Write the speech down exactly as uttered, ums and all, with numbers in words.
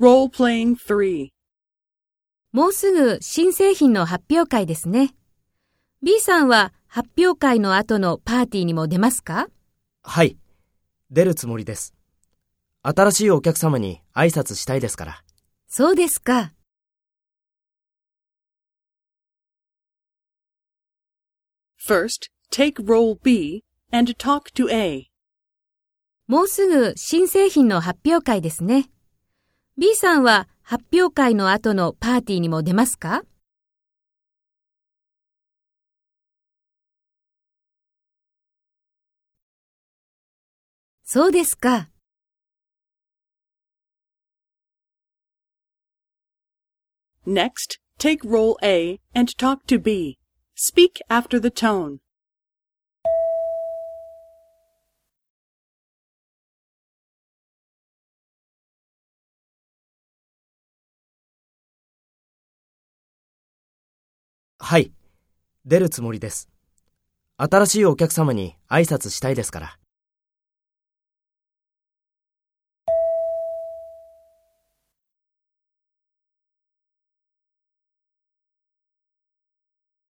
Role-playing three. もうすぐ新製品の発表会ですね。B さんは発表会の後のパーティーにも出ますか？ はい、出るつもりです。新しいお客様に挨拶したいですから。 そうですか。 First, take role B and talk to A. もうすぐ新製品の発表会ですね。B さんは発表会の後のパーティーにも出ますか？そうですか。 Next, take role A and talk to B. Speak after the tone. はい、出るつもりです。新しいお客様に挨拶したいですから。